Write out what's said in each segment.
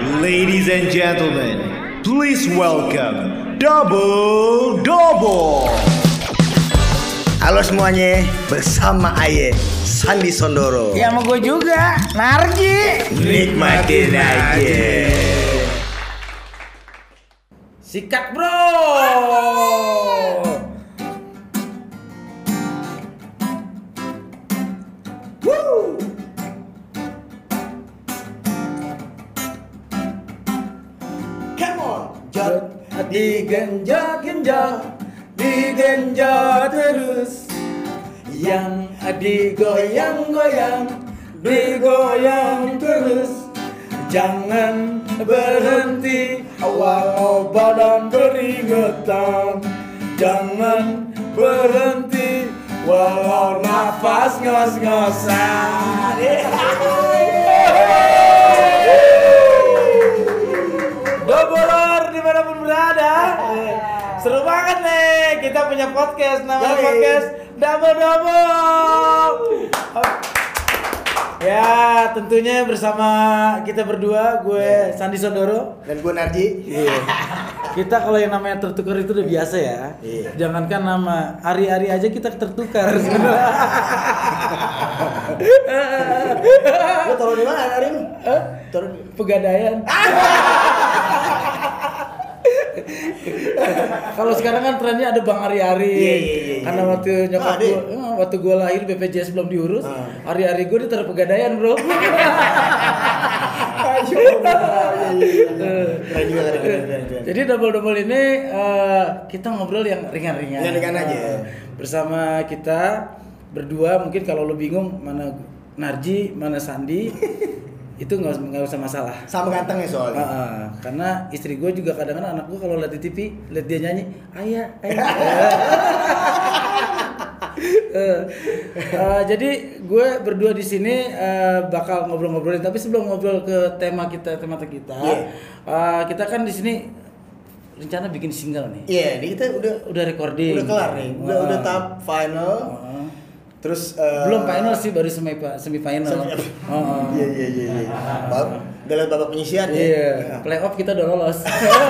Ladies and gentlemen, please welcome Double Double. Halo semuanya, bersama Aye Sandi Sondoro. Ya sama gue juga, Narji. Nikmatin aja. Sikat bro. Woo. Come on, jod. Digenjot terus, yang digoyang-goyang terus. Jangan berhenti walau badan keringetan. Jangan berhenti walau nafas ngos-ngosan. Doubler dimanapun berada. Seru banget nih, kita punya podcast, namanya podcast Double Double. Ya, tentunya bersama kita berdua, gue Sandi Sondoro Dan gue Narji. Iya. Kita kalau yang namanya tertukar itu udah biasa ya. Iya. Jangankan nama Ari-Ari aja kita tertukar. Lo taruh di mana hari ini? Taruh di Pegadaian. Kalau sekarang kan trennya ada Bang Ari-Ari. Iya. Karena waktu gue lahir BPJS belum diurus, Ari-Ari gue ditaruh Pegadaian, bro. Keren juga. Jadi double ini kita ngobrol yang ringan-ringan. Ringan-ringan aja. Bersama kita berdua, mungkin kalau lo bingung mana Narji, mana Sandi, itu nggak usah masalah. Sama gantengnya soalnya. Karena istri gue juga kadang-kadang anak gue kalau lihat di TV, lihat dia nyanyi, ayah. Jadi gue berdua di sini bakal ngobrol-ngobrolin. Tapi sebelum ngobrol ke tema kita, kita kan di sini rencana bikin single nih. Iya, ini kita Udah recording. udah kelar nih. Udah tahap final. Terus Belum final sih, baru semifinal. Iya. Udah lewat babak penyisian ya. Iya, playoff kita udah lolos.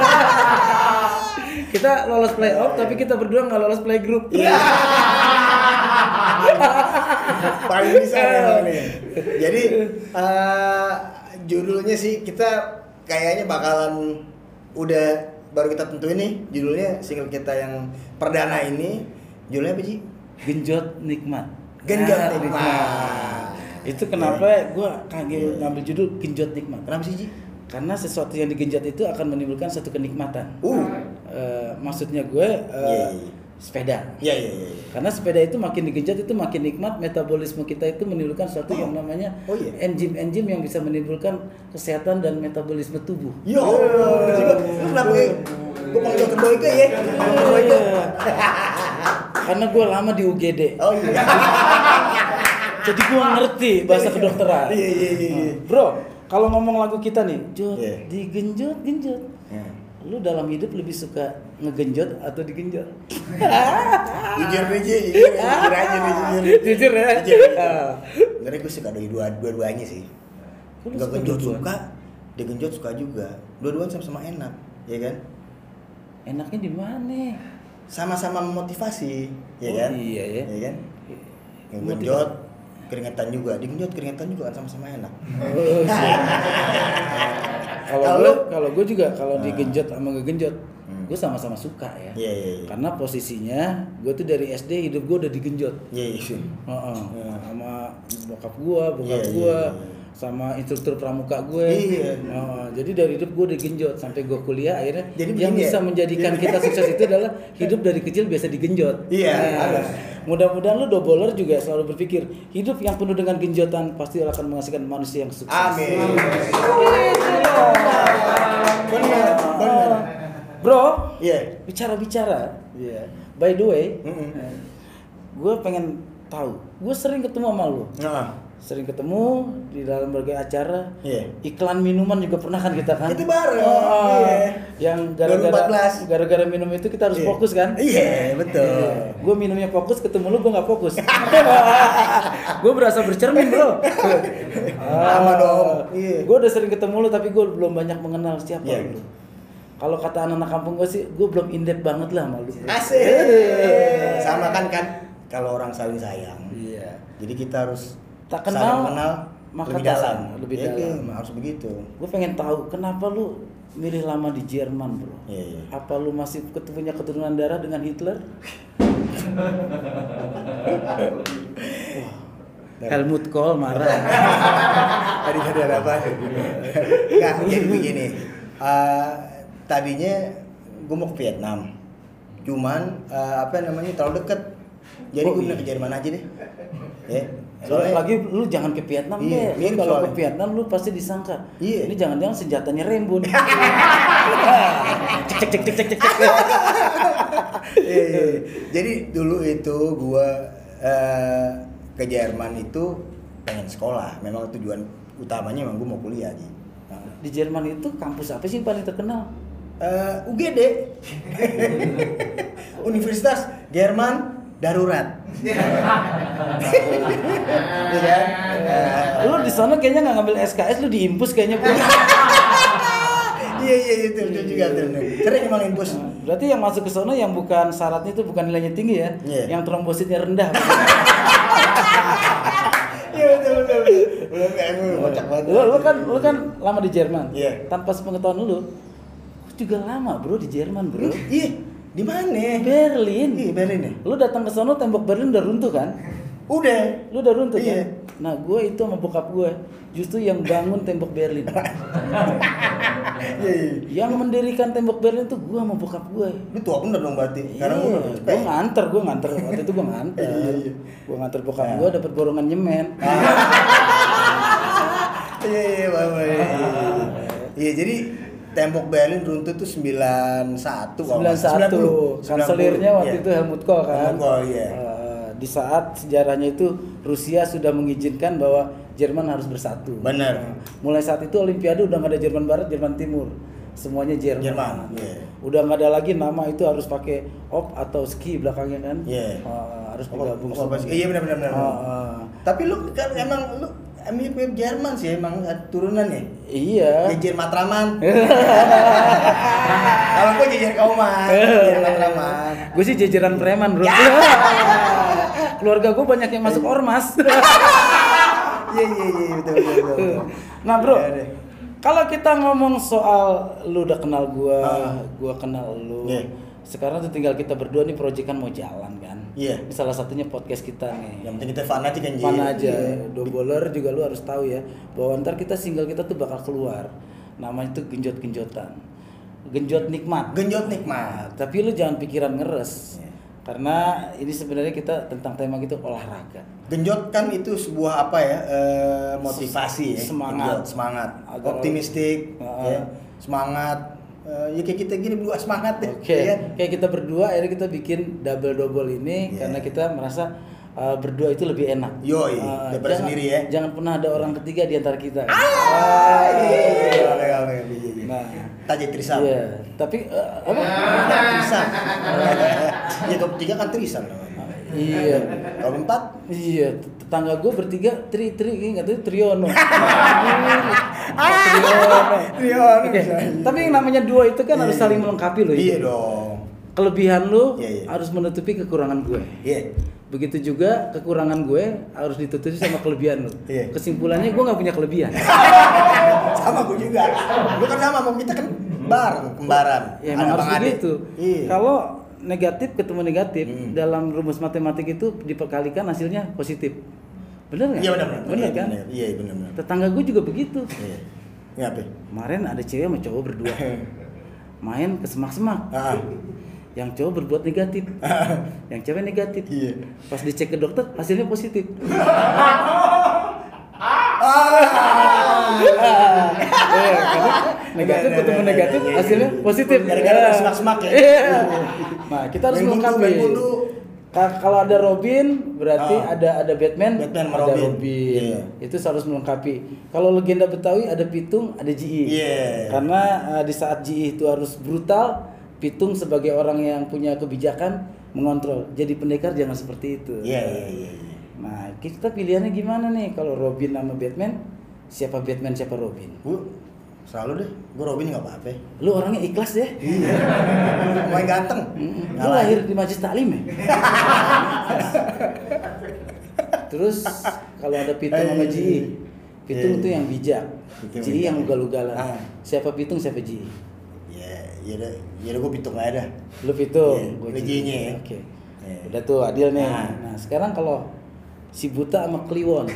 Kita lolos playoff, tapi kita berdua nggak lolos playgroup. Iya. Paling bisa ya nih. Jadi judulnya sih kita kayaknya bakalan baru kita tentuin nih judulnya single kita yang perdana ini. Judulnya apa sih? Genjot nikmat. Itu kenapa gue kaget ngambil judul Genjot nikmat. Kenapa sih, Ji? Karena sesuatu yang digenjot itu akan menimbulkan satu kenikmatan. Maksudnya gue sepeda. Iya. Karena sepeda itu makin digenjot itu makin nikmat, metabolisme kita itu menimbulkan sesuatu yang namanya enzim-enzim yang bisa menimbulkan kesehatan dan metabolisme tubuh. Yo, kenapa gue panggil kedoi ke ya? Karena gue lama di UGD. Oh iya. Jadi gue ngerti bahasa kedokteran. Iya. Bro, kalau ngomong lagu kita nih, digenjot. Lu dalam hidup lebih suka ngegenjot atau digenjot? Jujur aja. Jujur ya. Sebenarnya gue suka dari dua-duanya sih. Gak genjot suka, digenjot suka juga. Dua-duanya sama-sama enak, ya kan? Enaknya di mana? Sama-sama memotivasi, ya kan? Iya ya. Ya kan? Yang genjot keringetan juga, digenjot keringetan juga kan sama-sama enak. Kalau gue juga kalau digenjot sama ngegenjot, gue sama-sama suka ya. Iya. Karena posisinya gue tuh dari SD hidup gue udah digenjot. Iya. Sama bokap gue, sama instruktur pramuka gue. Iya. Jadi dari hidup gue udah genjot sampai gue kuliah akhirnya. Jadi yang bisa menjadikan kita sukses itu adalah hidup dari kecil biasa digenjot. Iya. Mudah-mudahan lu doubler juga selalu berpikir hidup yang penuh dengan genjotan pasti akan menghasilkan manusia yang sukses. Amin. Benar. Bro, Bicara. By the way, gue pengen tahu. Gue sering ketemu sama lu. sering ketemu di dalam berbagai acara. Iya. Iklan minuman juga pernah kan kita kan? Itu bareng. Iya. Yang 2014. gara-gara minum itu kita harus fokus kan? Iya, betul. Gue minumnya fokus, ketemu lu gue nggak fokus. Gue berasa bercermin bro. Lama dong. Iya. Gue udah sering ketemu lu tapi gue belum banyak mengenal siapa Iya. lu. Kalau kata anak-anak kampung gue sih, gue belum in-depth banget lah sama lu. Asik. Sama kan kalau orang saling sayang. Iya. Jadi kita harus Tak saling kenal, mengenal maka lebih tak dalam. sayang, lebih Iya, dalam. iya, harus begitu. Gue pengen tahu kenapa lu milih lama di Jerman bro? Iya, iya. Apa lu masih punya keturunan darah dengan Hitler? Helmut Kohl marah. Tadi ada apa? Enggak, jadi begini. Tadinya gue mau ke Vietnam. Cuman terlalu deket. Jadi gue pindah ke Jerman aja deh. Ya. Lagi lu jangan ke Vietnam Iya, deh. Lu kalau soalnya. ke Vietnam lu pasti disangka. Iya. Ini jangan-jangan senjatanya Rembo nih. cek. Iya. Jadi dulu itu gue ke Jerman itu pengen sekolah. Memang tujuan utamanya memang gue mau kuliah aja. Di Jerman itu kampus apa sih yang paling terkenal? UGD. Universitas Jerman Darurat. Iya kan? Lu di sana kayaknya nggak ngambil SKS, lu diimpus kayaknya bro. Iya itu juga benar. Sering emang impus. Berarti yang masuk ke sana yang bukan syaratnya itu bukan nilainya tinggi ya, Iya. yang trombositnya rendah. Iya betul. Belum kocak banget. Lu kan lama di Jerman. Iya. Tanpa sepengetahuan lu juga lama bro di Jerman bro. Iya, di mana? Berlin. Iya, Berlin ya. Lu datang ke sana tembok Berlin udah runtuh kan? Lu udah runtuh Iya. kan? Nah, gue itu sama bokap gue justru yang bangun tembok Berlin. Iya. Yang mendirikan tembok Berlin tuh gue sama bokap gue. Lu tua bener dong berarti. Iya, Karena gue gue nganter waktu itu gue nganter. Iya. Gue nganter bokap gue dapet borongan nyemen. Iya, Bapak. Iya, jadi tembok Berlin runtuh tuh 91 91. Kanselirnya waktu itu Helmut Kohl kan. Helmut Kohl, iya. Di saat sejarahnya itu Rusia sudah mengizinkan bahwa Jerman harus bersatu. Benar. Mulai saat itu Olimpiade udah nggak ada Jerman Barat, Jerman Timur, semuanya Jerman. Iya. Udah nggak ada lagi nama itu harus pakai op atau ski belakangnya kan. Iya. Harus digabung semua. Iya benar. Tapi lu kan emang lu mirip Jerman sih emang turunan ya. Iya. Jejer Matraman. Kalau gue jejer Kauman, jejer Matraman. Gue sih jajaran preman bro. Keluarga gue banyak yang masuk ormas. Iya betul. Nah bro, Iya deh. kalau kita ngomong soal lu udah kenal gue, gue kenal lu. Iya. Sekarang tuh tinggal kita berdua nih proyekan mau jalan kan. Iya. Salah satunya podcast kita nih. Yang penting kita fun aja kan. Fun aja. Iya. Doboler juga lu harus tahu ya bahwa ntar kita single kita tuh bakal keluar. Namanya tuh genjot-genjotan. Genjot nikmat. Genjot nikmat. Tapi lu jangan pikiran ngeres. Iya. Karena ini sebenarnya kita tentang tema gitu olahraga. Genjot kan itu sebuah apa ya? Motivasi ya. Semangat. Genjot, semangat. Agar- Optimistik, ya. Semangat. Ya kayak kita gini berdua semangat deh. Oke, Ya kan? kayak kita berdua akhirnya kita bikin double ini Yeah. karena kita merasa berdua itu lebih enak. Yoi, daripada sendiri ya. Jangan pernah ada orang ketiga di antara kita. Iya. Nah, Tajik Trisam. iya. Tapi apa? Trisam. Ya kalau bertiga kan Trisam namanya. Iya. Kalau empat Iya, tetangga gue bertiga nggak tahu Triono. Triono. Oke. Tapi yang namanya dua itu kan harus Iya. saling melengkapi loh. Iya dong. Kelebihan lu Iya. harus menutupi kekurangan gue. Iya. Begitu juga kekurangan gue harus ditutupi sama kelebihan lu. Iya. Kesimpulannya gue nggak punya kelebihan. Sama gue juga. Lu kan sama kita kan kembaran. Ya emang harus Abang adik. begitu. Iya. Kalau negatif ketemu negatif dalam rumus matematik itu diperkalikan hasilnya positif. Bener nggak? Iya benar. Bener kan? Iya benar. Tetangga gue juga begitu. Iya. Ini apa? Kemarin ada cewek sama cowok berdua main ke semak-semak. Yang cowok berbuat negatif, yang cewek negatif. Iya. Pas dicek ke dokter hasilnya positif. Negatif ketemu negatif hasilnya positif. Gara-gara semak-semak ya. Iya. Nah kita harus Main gundu, melengkapi. main gundu. Kalau ada Robin berarti ada Batman Batman sama ada Robin. Iya. Itu harus melengkapi. Kalau legenda Betawi ada Pitung, ada Ji. Iya. Karena di saat Ji itu harus brutal, Pitung sebagai orang yang punya kebijakan mengontrol. Jadi pendekar jangan seperti itu. Iya. Nah, kita pilihannya gimana nih kalau Robin sama Batman? Siapa Batman, siapa Robin? Gue selalu deh, gue Robin nggak apa-apa. Lu orangnya ikhlas ya? Iya. Main ganteng. Lu lahir di Majelis Taklim ya? Terus kalau ada Pitung sama Ji, Pitung itu yang bijak, Ji yang ugal-ugalan. Siapa Pitung, siapa Ji? Ya udah gue Pitung aja dah. Lu Pitung, Iya, gua lu Ji. Ji-nya ya. Oke. Iya. Udah tuh adil nih. Nah. Nah, sekarang kalau si Buta sama Kliwon.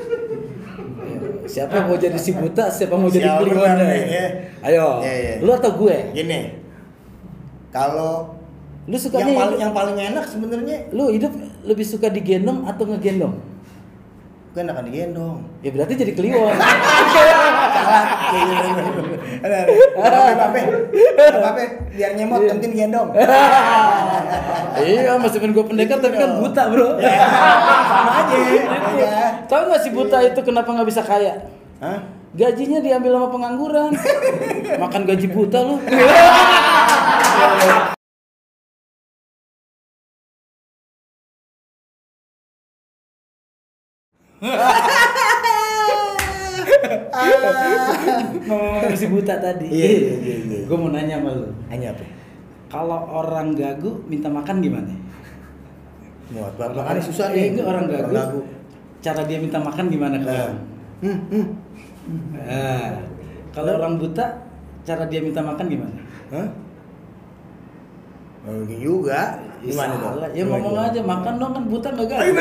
Siapa yang mau jadi si Buta, siapa mau jadi Siapa Kliwon? ya? Ayo. Iya. Lu atau gue? Gini, kalau Lu sukanya yang paling enak sebenarnya lu hidup lebih suka digendong atau ngegendong? gue enakan digendong. Ya berarti jadi Kliwon. Apa biar nyemot penting digendong. Iya, meskipun gue pendekar tapi kan buta, Bro. Sama aja. Ya. Tahu nggak si buta itu kenapa nggak bisa kaya? Hah? Gajinya diambil sama pengangguran. Makan gaji buta lu. Ngomong si buta tadi. Iya. Gue mau nanya sama lu. Hanya apa? Kalau orang gagu minta makan gimana? Muat banget. Susah nih. Enggak orang gagu. Cara dia minta makan gimana kalau? Kalau orang buta, cara dia minta makan gimana? Hah? Mungkin juga. Gimana dong? Ya ngomong aja, makan dong, kan buta nggak gagu.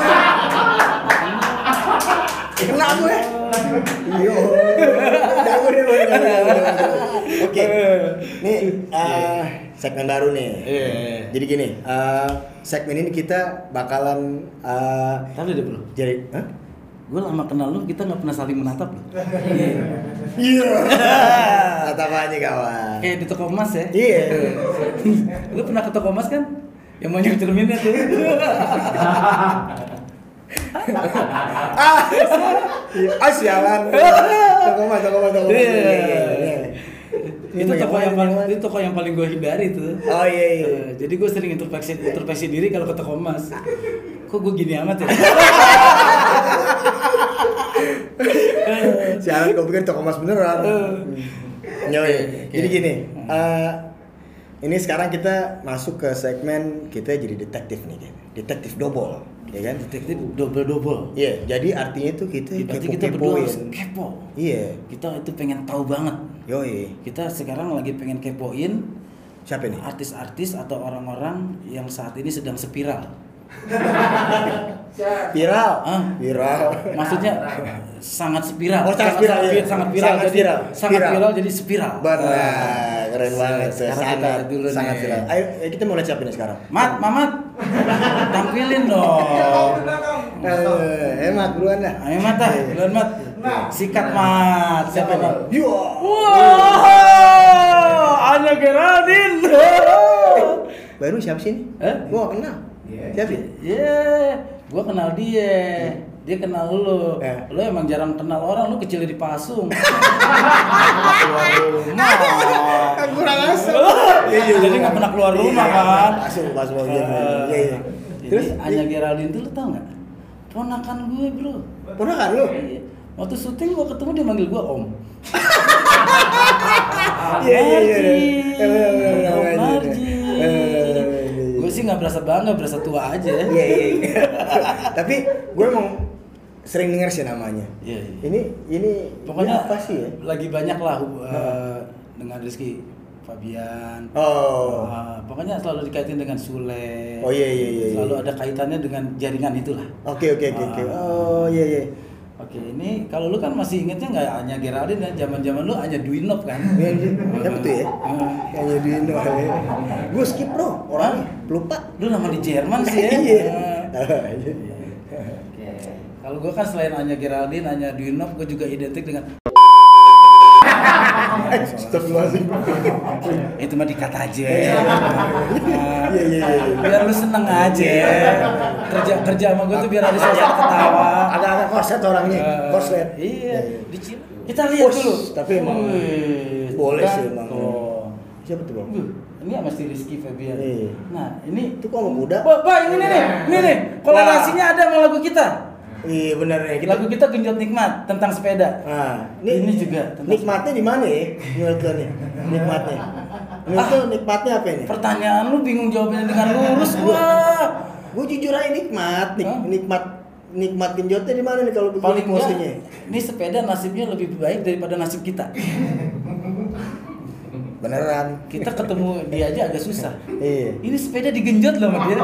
Kena gue. Iya. Oke. Nih segmen baru nih. Jadi gini, segmen ini kita bakalan Tapi deh bro. jadi, Gue lama kenal lu, kita nggak pernah saling menatap loh. Iya. Tatap aja kawan. Kayak di toko emas ya. Iya. Lu pernah ke toko emas kan? Yang banyak cerminnya tuh. Sialan. Toko mas. Itu toko yang paling gue hindari tuh. Oh iya. Jadi gue sering introspeksi diri kalau ke toko emas. Kok gue gini amat ya? Sialan, gue pikir toko mas beneran. Jadi gini, ini sekarang kita masuk ke segmen kita jadi detektif nih, detektif double, ya kan? Detektif double. Iya, jadi artinya itu kita Berarti kita berdua harus kepo-kepoin. kepo. Iya. Kita itu pengen tahu banget. Yoi. Kita sekarang lagi pengen kepoin Siapa nih? artis-artis atau orang-orang yang saat ini sedang spiral. Viral. Viral. Maksudnya sangat spiral. Oh, sangat spiral, iya. Sangat viral. Sangat Jadi viral. sangat Viral. viral jadi spiral. Benar, keren banget. Sekarang kita Sangat dulu sangat nih. viral. Ayo kita mau lihat siapa nih sekarang? Mamat. Tampilin dong. Mat duluan dah. Ayo Mat dah, duluan Mat. Sikat Mat. Siapa nih? Yo. Wow, Anya Geraldine. Baru siapa sih ini? Gua gak kenal. Siapa sih? Gua kenal dia. Dia kenal lu. Eh. Lu emang jarang kenal orang, lu kecil di Pasung. Keluar rumah. Kurang asal. Jadi nggak pernah keluar rumah kan? Pasung. Iya. Terus Anya Geraldine tuh lu tau nggak? Ponakan gue bro. ponakan lu? Iya. Waktu syuting gua ketemu dia manggil gua Om. Iya. Om Narji. Gue sih nggak berasa bangga, berasa tua aja. Iya. Tapi gue emang sering dengar sih namanya. Iya. Ini Pokoknya apa sih ya? lagi banyak lah dengan Rizky Fabian. Oh. Pokoknya selalu dikaitin dengan Sule. Oh iya. Selalu ada kaitannya dengan jaringan itulah. Oke. Oh iya. Oke, ini kalau lu kan masih ingetnya nggak Anya Geraldine ya? Zaman-zaman lu Anya Dwinov kan? Siapa tuh ya? Kayaknya Dino. Gue skip bro, orangnya lupa. Lu nama di Jerman sih ya? Iya. Kalau gue kan selain Anya Geraldine, Anya Dwinov, gue juga identik dengan Astagfirullahaladzim. Itu mah dikat aja. Iya. Biar lu seneng aja. Kerja sama gue tuh biar ada suasana ketawa. Ada korset orangnya, korset. Iya. Kita lihat dulu. Tapi emang boleh kan? sih emang. Oh. Siapa tuh bang? Ini sama si Rizky Febian. Iya. Nah, ini Itu kok sama kuda? Pak, ini nih. Kolorasinya ada sama lagu kita. Iya benar ya. Lagu kita Genjot Nikmat tentang sepeda. Nah, ini juga tentang nikmatnya di mana ya? Menurut lo nih, nikmatnya. Menurut lo nikmatnya apa ini? Pertanyaan lu bingung jawabnya dengan lurus gua. Gue jujur aja nikmat, nikmat genjotnya di mana nih kalau begini Paling enggak, posisinya? ini sepeda nasibnya lebih baik daripada nasib kita. Beneran. Kita ketemu dia aja agak susah. Iya. Ini sepeda digenjot loh sama dia.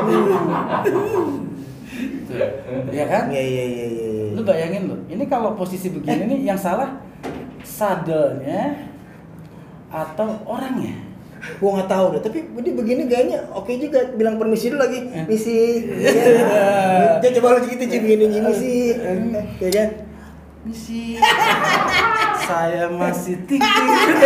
Iya kan? Iya. Lu bayangin loh, ini kalau posisi begini nih yang salah sadelnya atau orangnya? Gua nggak tahu deh, tapi ini begini gayanya oke juga. Bilang permisi dulu lagi, misi. Ya coba lu gitu begini misi, ya kan? Misi. Saya masih tinggi.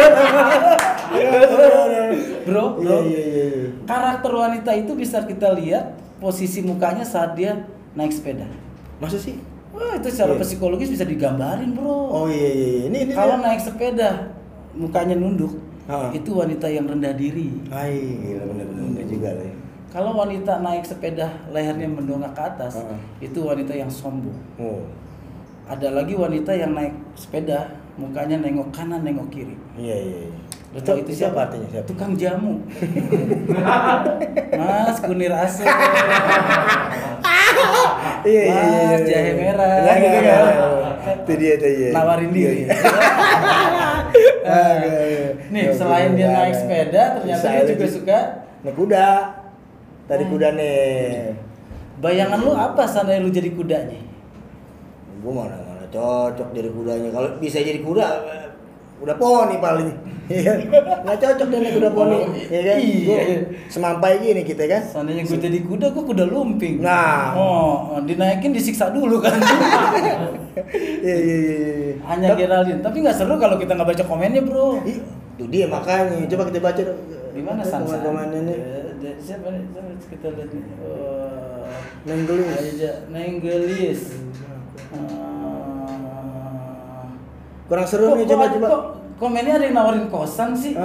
Bro. Iya. Karakter wanita itu bisa kita lihat posisi mukanya saat dia naik sepeda. Masa sih? Wah, itu secara psikologis bisa digambarin, bro. Oh iya. Ini Kalau naik sepeda, mukanya nunduk, itu wanita yang rendah diri. Gila bener juga lah. Kalau wanita naik sepeda, lehernya mendongak ke atas, itu wanita yang sombong. Oh. Ada lagi wanita yang naik sepeda, mukanya nengok kanan, nengok kiri. Iya. Lo tau itu siapa? Artinya siapa? Tukang jamu. Mas kunir asem. Mas jahe merah. Gitu kan. Itu dia. Nawarin diri. Nih, selain dia naik sepeda, ternyata dia juga suka naik kuda. Tadi kuda nih. Bayangan lu apa seandainya lu jadi kudanya? Gue mana cocok jadi kudanya. Kalau bisa jadi kuda, udah poni paling. Iya. Nggak cocok deh naik kuda poni. Iya kan? Iya. Semampai gini kita kan. Seandainya gue jadi kuda, gue kuda lumping. Nah. Oh, dinaikin disiksa dulu kan. Iya. Hanya Geraldine, tapi nggak seru kalau kita nggak baca komennya, bro. Itu dia makanya. Coba kita baca Di mana Sansa? komennya nih. Siapa nih? Kita lihat nih. Nenggelis. Nenggelis. Kurang seru nih, coba. Kok komennya ada yang nawarin kosan sih?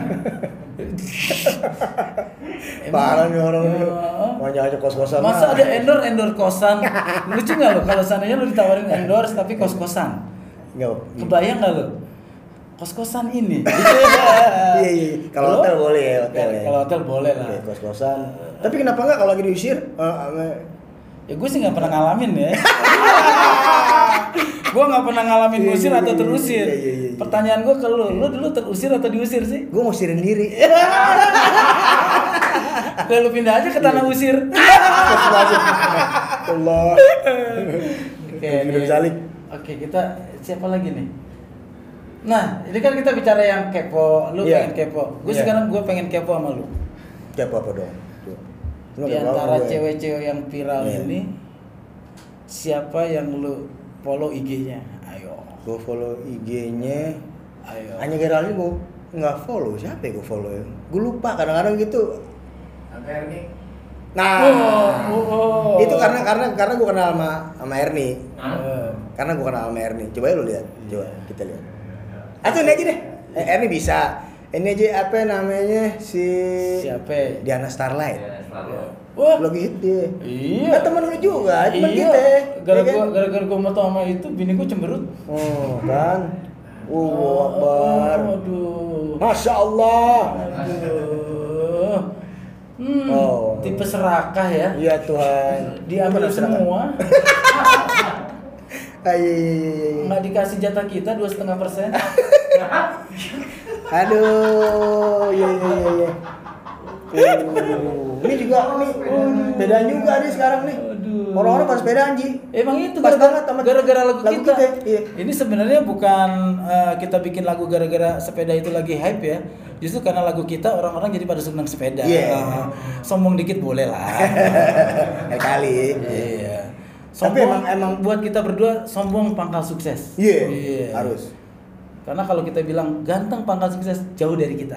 Parah nih orang ini. Banyak aja kos-kosan. Masa ada endorse kosan? Lucu nggak lo kalau seandainya lo ditawarin endorse tapi kos-kosan? Enggak. Kebayang nggak lo? Kos-kosan ini. Iya. Kalau hotel boleh ya, hotel ya. Kalau hotel boleh lah. Oke, kos-kosan. Tapi kenapa enggak kalau lagi diusir? Ya gue sih nggak pernah ngalamin ya. Gue nggak pernah ngalamin usir atau terusir. Iya. Pertanyaan gue ke lu dulu terusir atau diusir sih? Gue mau usirin diri. Udah lu pindah aja ke tanah usir. Allah. Oke, kita siapa lagi nih? Nah, ini kan kita bicara yang kepo, lu pengen kepo. Gue sekarang gue pengen kepo sama lu. Kepo apa dong? Di antara cewek-cewek yang viral ini, siapa yang lu follow IG-nya? Ayo. Gue follow IG-nya. Ayo. Hanya Geraldine gue nggak follow. Siapa ya gue follow ya? Gue lupa kadang-kadang gitu. Ernie. Nah, itu karena gue kenal sama Ernie. Karena gue kenal sama Ernie. Coba ya lu lihat. Coba kita lihat. Atau ini aja deh. Ernie bisa. Ini aja apa namanya siapa? Diana Starlight. Wah, lagi hit dia. Iya. Kan temen lu juga, temen iya. kita. Gara-gara gue mau tau sama itu, bini gue cemberut. Oh, kan. Akbar. Aduh. Masya Allah. Aduh. Tipe serakah ya. Iya Tuhan. Diambil semua. Iya. Nggak dikasih jatah kita 2,5%. Aduh, iya. Ini juga sepedaan juga nih sekarang nih. Orang-orang pada sepedaan Ji. Emang itu pas banget sama gara-gara lagu kita. Iya. Ini sebenarnya bukan kita bikin lagu gara-gara sepeda itu lagi hype ya. Justru karena lagu kita orang-orang jadi pada senang sepeda. Sombong dikit boleh lah. Kali. Iya. Tapi Sombong, emang buat kita berdua sombong pangkal sukses. Iya. Harus. Karena kalau kita bilang ganteng pangkal sukses jauh dari kita.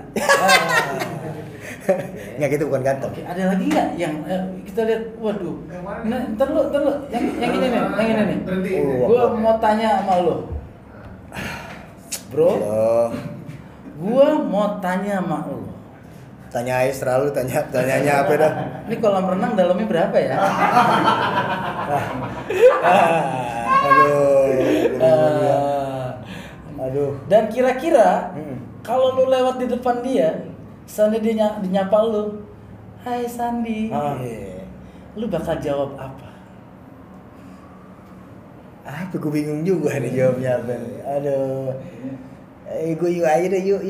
Nggak, gitu bukan ganteng. Oke, ada lagi nggak yang kita lihat? Waduh. Nah, ntar lu, yang ini nih, yang ini nih. Gua mau tanya sama lu, bro. Halo. Gua mau tanya sama lu. Tanya aja selalu, tanyanya apa dah? Ini kolam renang dalamnya berapa ya? Aduh. Dan kira-kira kalau lu lewat di depan dia, Sandi dia dinyapa lu, "Hai Sandi." Lu bakal jawab apa? Apa gue bingung juga nih jawabnya apa nih. Aduh. Gue yuk aja deh, yuk.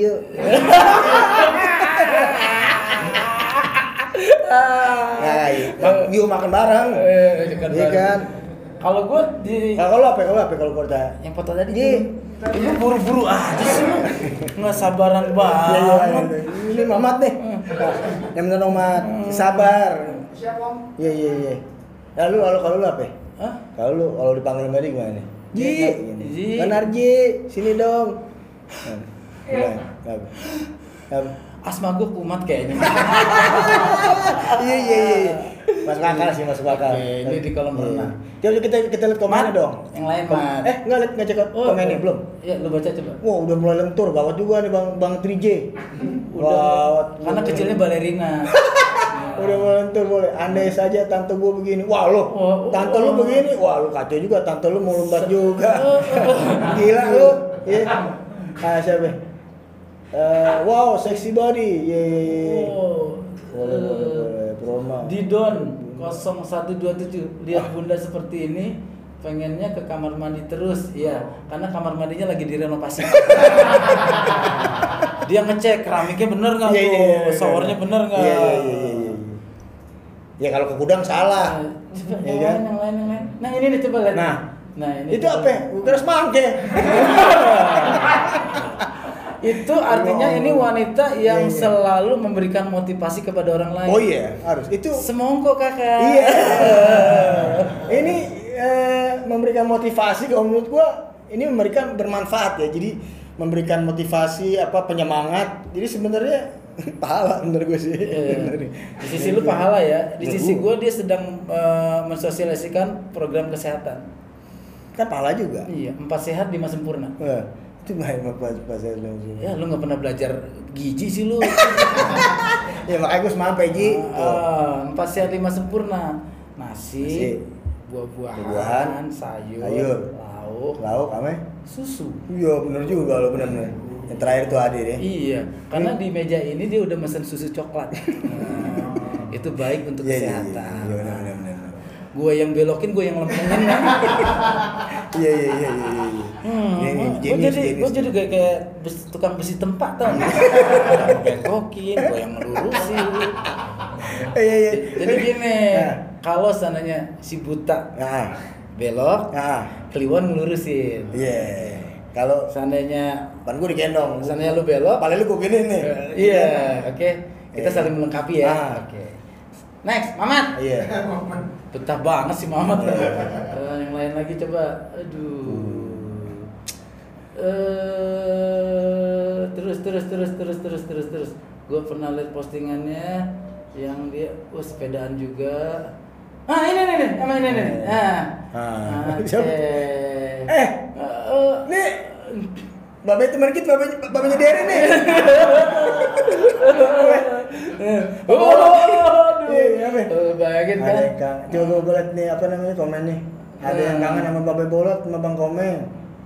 Nah, yuk makan bareng. Iya kan? Kalau gue di Kalau lu apa kalau gue tanya? yang foto tadi lu buru-buru aja sih lu. Nggak sabaran banget. Iya. Ini Mamat nih. Yang bener Mamat. Sabar. Siap Om. Iya. Lalu kalau lu apa? Hah? Kalau dipanggil sama dia gimana nih? Ji. Kan Arji, sini dong. Gimana? Apa? Asma gue kumat kayaknya. Iya. Masuk akal. Oke, ini di kolam renang. Coba kita lihat komennya dong. Yang lain, Mat. Nggak cek komennya belum? Iya, lu baca coba. Wah, udah mulai lentur, gawat juga nih Bang 3J. Gawat. Karena kecilnya balerina. Udah mulai lentur boleh. Andai saja tante gua begini. Wah, lu. Tante lu begini. Wah, lu kacau juga. Tante lu mau lompat juga. Gila lu. Iya. Siapa? Wow, sexy body. Yeay. Boleh. Proma. Didon 0127 lihat bunda seperti ini pengennya ke kamar mandi terus. Iya, karena kamar mandinya lagi direnovasi. Dia ngecek keramiknya bener nggak tuh, showernya bener nggak. Iya. Ya kalau ke gudang salah. Coba Iya yang lain. Nah ini nih coba lihat. Nah ini itu apa? Udah semangke. Itu artinya ini wanita yang selalu memberikan motivasi kepada orang lain. Oh iya, harus. Itu semongko kakak. Iya. Ini memberikan motivasi kalau menurut gua ini memberikan bermanfaat ya. Jadi memberikan motivasi penyemangat. Jadi sebenarnya pahala menurut gue sih. Di sisi lu pahala ya. Di sisi gua dia sedang mensosialisasikan program kesehatan. Kan pahala juga. Iya, 4 sehat 5 sempurna. Itu main pas langsung. Ya lu nggak pernah belajar gizi sih lu. Ya makanya gue semampai Ji. 4 sehat 5 sempurna. Nasi, buah-buahan, sayur, lauk, apa? Susu. Iya benar juga lo benar. Yang terakhir tuh Ade deh. Iya, karena di meja ini dia udah mesen susu coklat. Itu baik untuk kesehatan. Iya benar. Gue yang belokin, gue yang lempengin kan. Iya. Gue jadi kayak tukang besi tempat tau. Belokin, gue yang ngelurusin. Iya. Jadi gini, kalau sananya si buta belok, Kliwon ngelurusin. Iya. Kalau seandainya kan gue digendong, seandainya lu belok, paling lu gue gini nih. Iya, oke. Kita saling melengkapi ya. Oke. Next, Mamat. Iya. Betah banget sih Mamat. Yang lain lagi coba. Aduh. Terus. Gue pernah lihat postingannya yang dia sepedaan juga. Ini. Emang ini. Nih. Babe teman kita, babenya Dere nih. Bayangin kan. Coba gue liat nih komen nih. Ada yang kangen sama Babe Bolot sama Bang Komeng.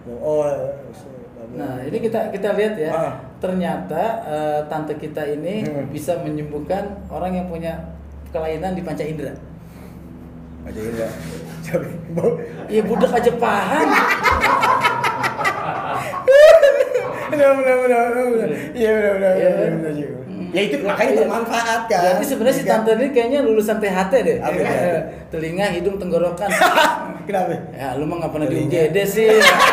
Nah, ini kita lihat ya. Ternyata tante kita ini bisa menyembuhkan orang yang punya kelainan di panca indera. Panca indera. Iya budak aja paham. Benar. Iya benar. Ya itu makanya bermanfaat kan. Jadi sebenarnya si tante ini kayaknya lulusan THT deh. Telinga, hidung, tenggorokan. Kenapa? Ya lu mah nggak pernah di UGD sih.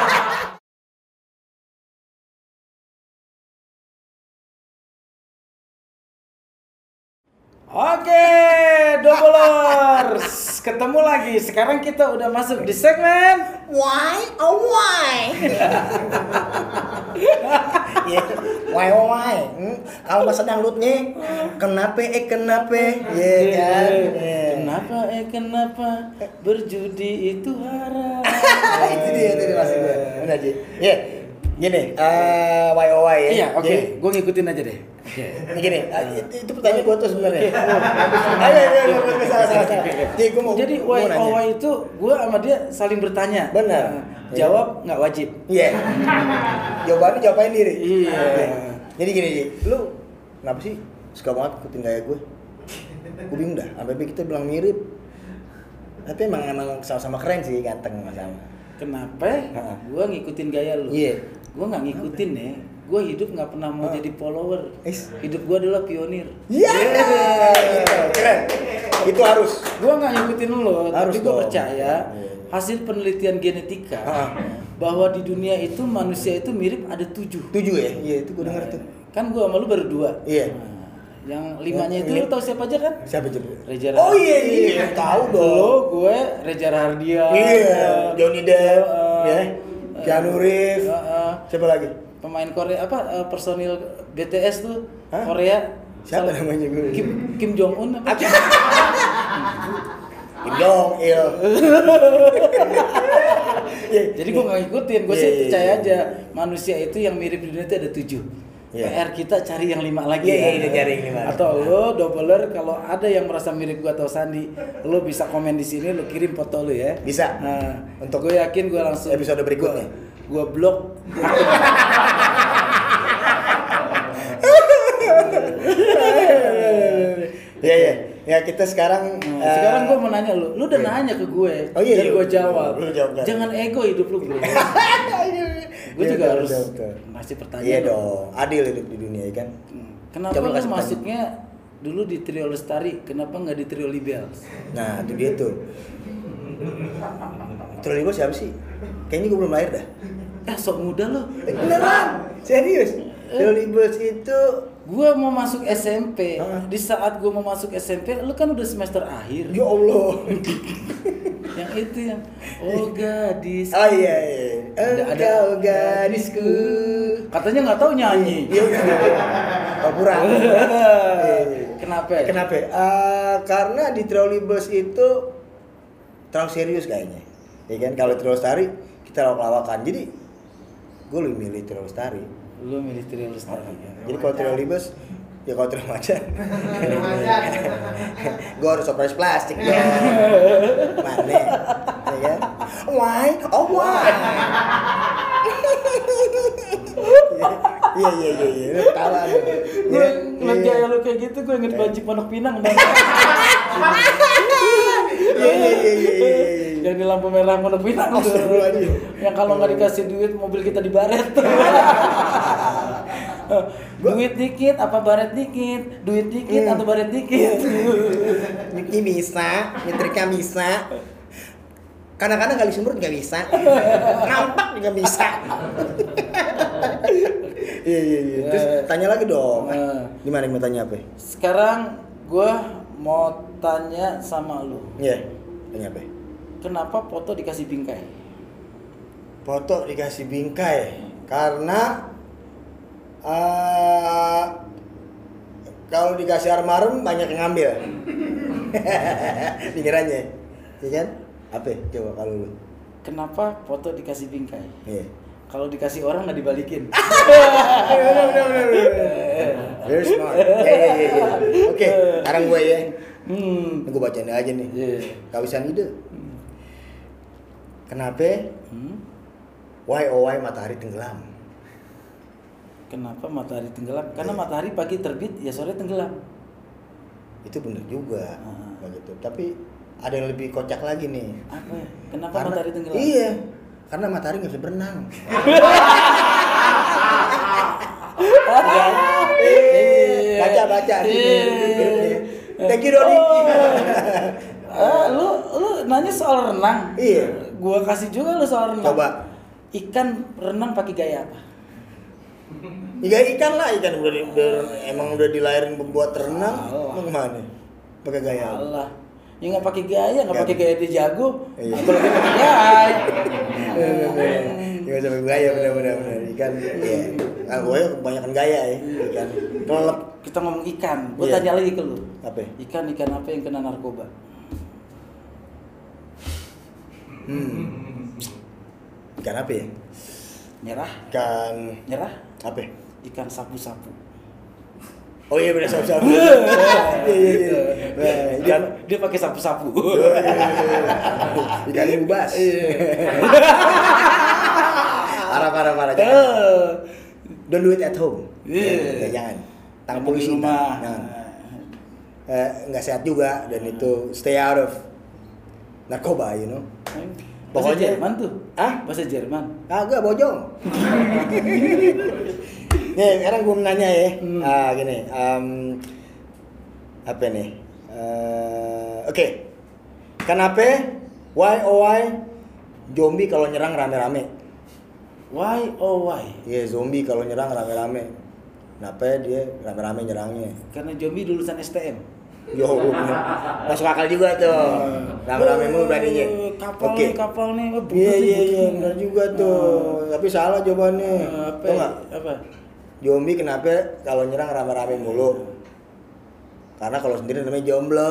Oke, Doublers, ketemu lagi. Sekarang kita udah masuk di segmen Why? Iya. Why. Kalau masa dangdutnya kenapa? Iya kan. Kenapa berjudi itu haram. Itu dia masih gue. Benar Ji. Iya. Gini, why ya. Iya, oke. Gue ngikutin aja deh. Ini gini, itu pertanyaan gue tuh sebenarnya. Ayo, salah. Jadi why itu gue sama dia saling bertanya. Benar. Jawab nggak wajib. Iya. Jawabannya diri. Iya. Jadi gini, lu kenapa sih suka banget ikutin gaya gue? Gue bingung dah. Sampai kita bilang mirip. Tapi emang sama-sama keren sih, ganteng sama. Kenapa? Gue ngikutin gaya lu. Iya. Gue nggak ngikutin ya. Gue hidup nggak pernah mau jadi follower. Hidup gue adalah pionir. Iya. Keren. Itu harus. Gue nggak ngikutin lu, tapi gue percaya hasil penelitian genetika bahwa di dunia itu manusia itu mirip ada 7 ya? Iya, itu gue denger tuh. Kan gue sama lu baru 2. Iya. Yang 5-nya itu lu tahu siapa aja kan? Siapa coba? Reza Rahadian. Oh iya, tahu dong. Lo, gue Reza Rahadian. Iya, Johnny Depp, ya. Keanu Reeves. Siapa lagi? Pemain Korea personil BTS tuh Korea. Siapa namanya gue? Kim Jong Un apa? Kim Jong Il. Jadi gue nggak ngikutin, gue sih percaya aja manusia itu yang mirip di dunia itu ada 7. PR kita cari yang 5 lagi. Iya, cari yang 5. Atau lo doubler kalau ada yang merasa mirip gue atau Sandi, lo bisa komen di sini, lo kirim foto lo ya. Bisa. Nah, untuk gue yakin gue langsung episode berikutnya. Gue blok. Iya. Ya kita sekarang sekarang gue mau nanya lu udah nanya ke gue. Oh iya. Dan gue jawab. Jangan ego hidup lu, bro. Gue juga harus masih pertanyaan. Iya dong, adil hidup di dunia kan. Kenapa lu masuknya dulu di Trio Lestari, kenapa nggak di Trio Libels? Nah itu dia tuh. Trio Libels siapa sih? Kayaknya gue belum lahir dah. Sok muda lo. Beneran? Serius? Trio Libels itu gue mau masuk SMP. Di saat gue mau masuk SMP, lu kan udah semester akhir. Ya Allah. Yang itu yang gadis. Oh iya. Engkau gadisku. Katanya nggak tahu nyanyi. Iya. Pura. Kenapa? Karena di Trio Libels itu terlalu serius kayaknya. Ya kan kalau Trio Lestari kita lawak-lawakan. Jadi gue lebih milih Trio Lestari. Lu milih Trio Lestari. Jadi kalau Trio Libels ya kalau Trio Macan. Gue harus operasi plastik dong. Mana? Ya kan? Why? Iya. Tawa lu. Gue ngeliat gaya lu kayak gitu, gue inget Banci Pondok Pinang. Iya. Yang di lampu merah Pondok Pinang tuh. Yang kalau nggak dikasih duit mobil kita dibaret. Duit dikit apa baret dikit? Duit dikit atau baret dikit? Niki bisa, nyetrika bisa. Kadang-kadang kali semprot nggak bisa, nampak juga bisa. Iya. Terus tanya lagi dong. Gimana mau tanya apa? Sekarang gue mau tanya sama lu. Iya. Tanya apa? Kenapa foto dikasih bingkai? Foto dikasih bingkai karena kalau dikasih armarem banyak yang ngambil. Pikirannya, iya kan? Apa? Coba kalau lu. Kenapa foto dikasih bingkai? Iya. Kalau dikasih orang nggak dibalikin. Benar. Very smart. Iya. Oke, sekarang gue ya. Gue bacain aja nih. Kawisan ide. Kenapa? Why matahari tenggelam? Kenapa matahari tenggelam? Karena matahari pagi terbit, ya sore tenggelam. Itu benar juga. Begitu. Tapi ada yang lebih kocak lagi nih. Apa? Kenapa matahari tenggelam? Iya. Karena matahari nggak bisa berenang. Baca. Thank you Dodi. Lu nanya soal renang. Iya. Gua kasih juga lu soal renang. Coba. Ikan renang pakai gaya apa? Ikan emang udah dilahirin buat renang. Mau kemana? Pakai gaya. Allah. Ya nggak pakai gaya, nggak pakai gaya dia jago. Iya. Apalagi pakai gaya. Gak sampai gaya benar. Ikan. Iya. Nah, gue kebanyakan gaya ya ikan. Kalau kita ngomong ikan, gue tanya lagi ke lu. Apa? Ikan apa yang kena narkoba? Ikan apa ya? Nyerah. Nyerah? Apa? Ikan sapu-sapu. Oh iya benar sapu-sapu. Iya. Dia pakai sapu-sapu. Ikan ubas. Parah. Don't do it at home. Jangan. Tangan polisi rumah. Jangan. Nggak sehat juga dan itu stay out of narkoba, you know. Bahasa Pokoknya- Jerman tuh. Bahasa Jerman. Kagak bojong. Nih, sekarang gue nanya ya. Gini. Apa nih? Oke. Kenapa? Why zombie kalau nyerang rame-rame? Why? Iya, zombie kalau nyerang rame-rame. Kenapa dia rame-rame nyerangnya? Karena zombie lulusan STM. Yo, masuk akal juga tuh. Rame-rame mulu beraninya. Kapal nih. Iya, benar juga tuh. Tapi salah jawabannya. Tahu nggak? Apa? Zombie kenapa kalau nyerang rame-rame mulu? Karena kalau sendiri namanya jomblo.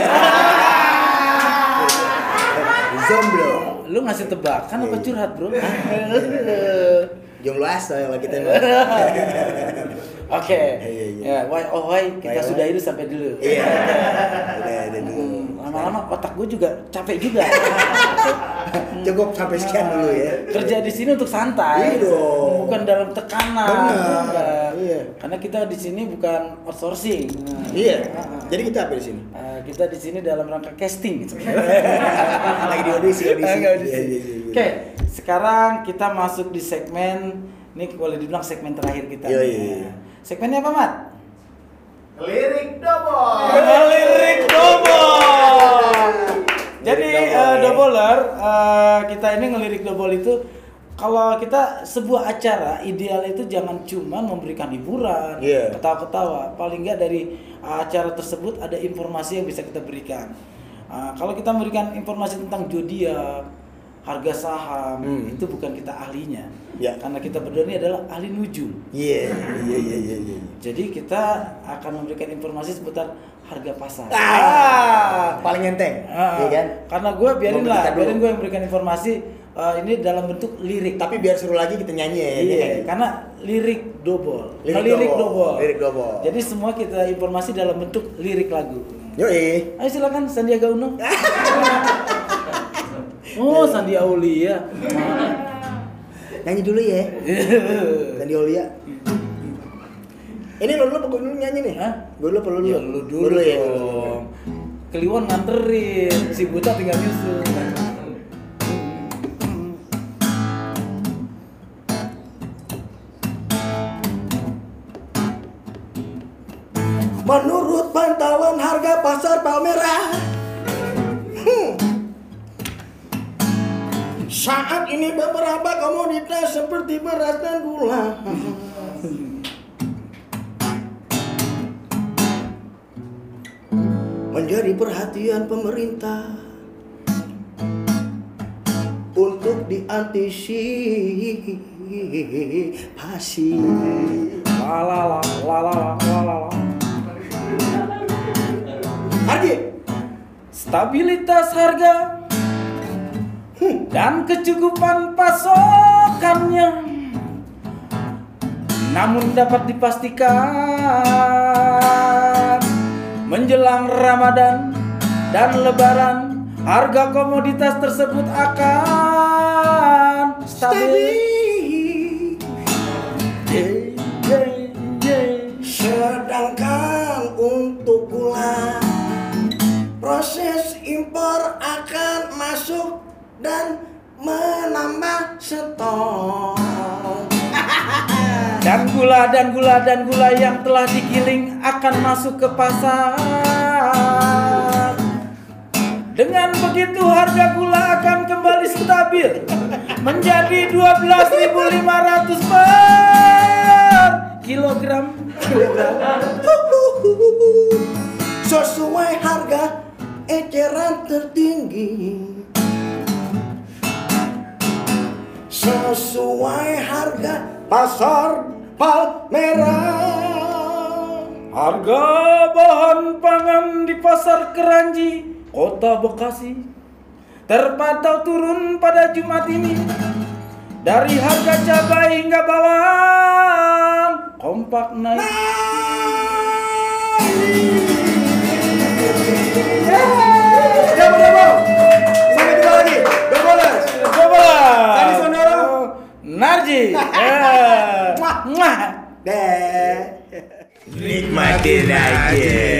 Zomblo. Lu ngasih tebakan apa curhat, Bro? Jomblo asal kalau kita mah. Oke. Iya. Ya, why kita Why? sudah itu sampai dulu. Iya. Udah dulu. Lama-lama otak gue juga capek juga. Cukup sampai sekian dulu ya. Kerja di sini untuk santai. Iya dong. Bukan dalam tekanan. Benar. Bukan. Iya. Karena kita di sini bukan outsourcing. Iya. Jadi kita apa di sini? Kita di sini dalam rangka casting gitu. Lagi di audisi. Lagi audisi. Iya. Oke, sekarang kita masuk di segmen ini boleh dibilang segmen terakhir kita. Iya. Segmennya apa, Mat? Lirik double. Lirik double. Jadi doubler, kita ini ngelirik double itu kalau kita sebuah acara ideal itu jangan cuma memberikan hiburan, ketawa-ketawa. Paling nggak dari acara tersebut ada informasi yang bisa kita berikan. Kalau kita memberikan informasi tentang zodiak, harga saham, itu bukan kita ahlinya. Ya. Karena kita berdua ini adalah ahli nujum. Iya. Jadi kita akan memberikan informasi seputar harga pasar. Paling enteng, iya kan? Karena gue biarin gue yang memberikan informasi ini dalam bentuk lirik. Tapi biar seru lagi kita nyanyi ya. Iya, karena lirik double. Lirik double. Jadi semua kita informasi dalam bentuk lirik lagu. Yoi. Ayo silakan Sandiaga Uno. Oh, Sandi Aulia. Nyanyi dulu ya. Sandi Aulia. Ini lo dulu apa gue dulu nyanyi nih? Hah? Gue dulu apa lo dulu? Ya lu dulu ya. dong. Kliwon nganterin, si Buta tinggal nyusul. Menurut pantauan harga pasar Palmerah, saat ini beberapa komoditas seperti beras dan gula menjadi perhatian pemerintah untuk diantisipasi. La. Harga Stabilitas harga dan kecukupan pasokannya, namun dapat dipastikan menjelang Ramadan dan Lebaran harga komoditas tersebut akan stabil. Sedangkan untuk gula, proses impor akan masuk dan menambah stok. Dan gula yang telah digiling akan masuk ke pasar. Dengan begitu harga gula akan kembali stabil menjadi 12.500 per kilogram. Sesuai harga eceran tertinggi sesuai harga pasar Palmerah. Harga bahan pangan di Pasar Keranji, Kota Bekasi, terpantau turun pada Jumat ini. Dari harga cabai hingga bawang, kompak naik. Double. Sampai jumpa lagi. Dobolers. Sandi Sondoro. Narji. Muah. Deh. Nikmatin aja.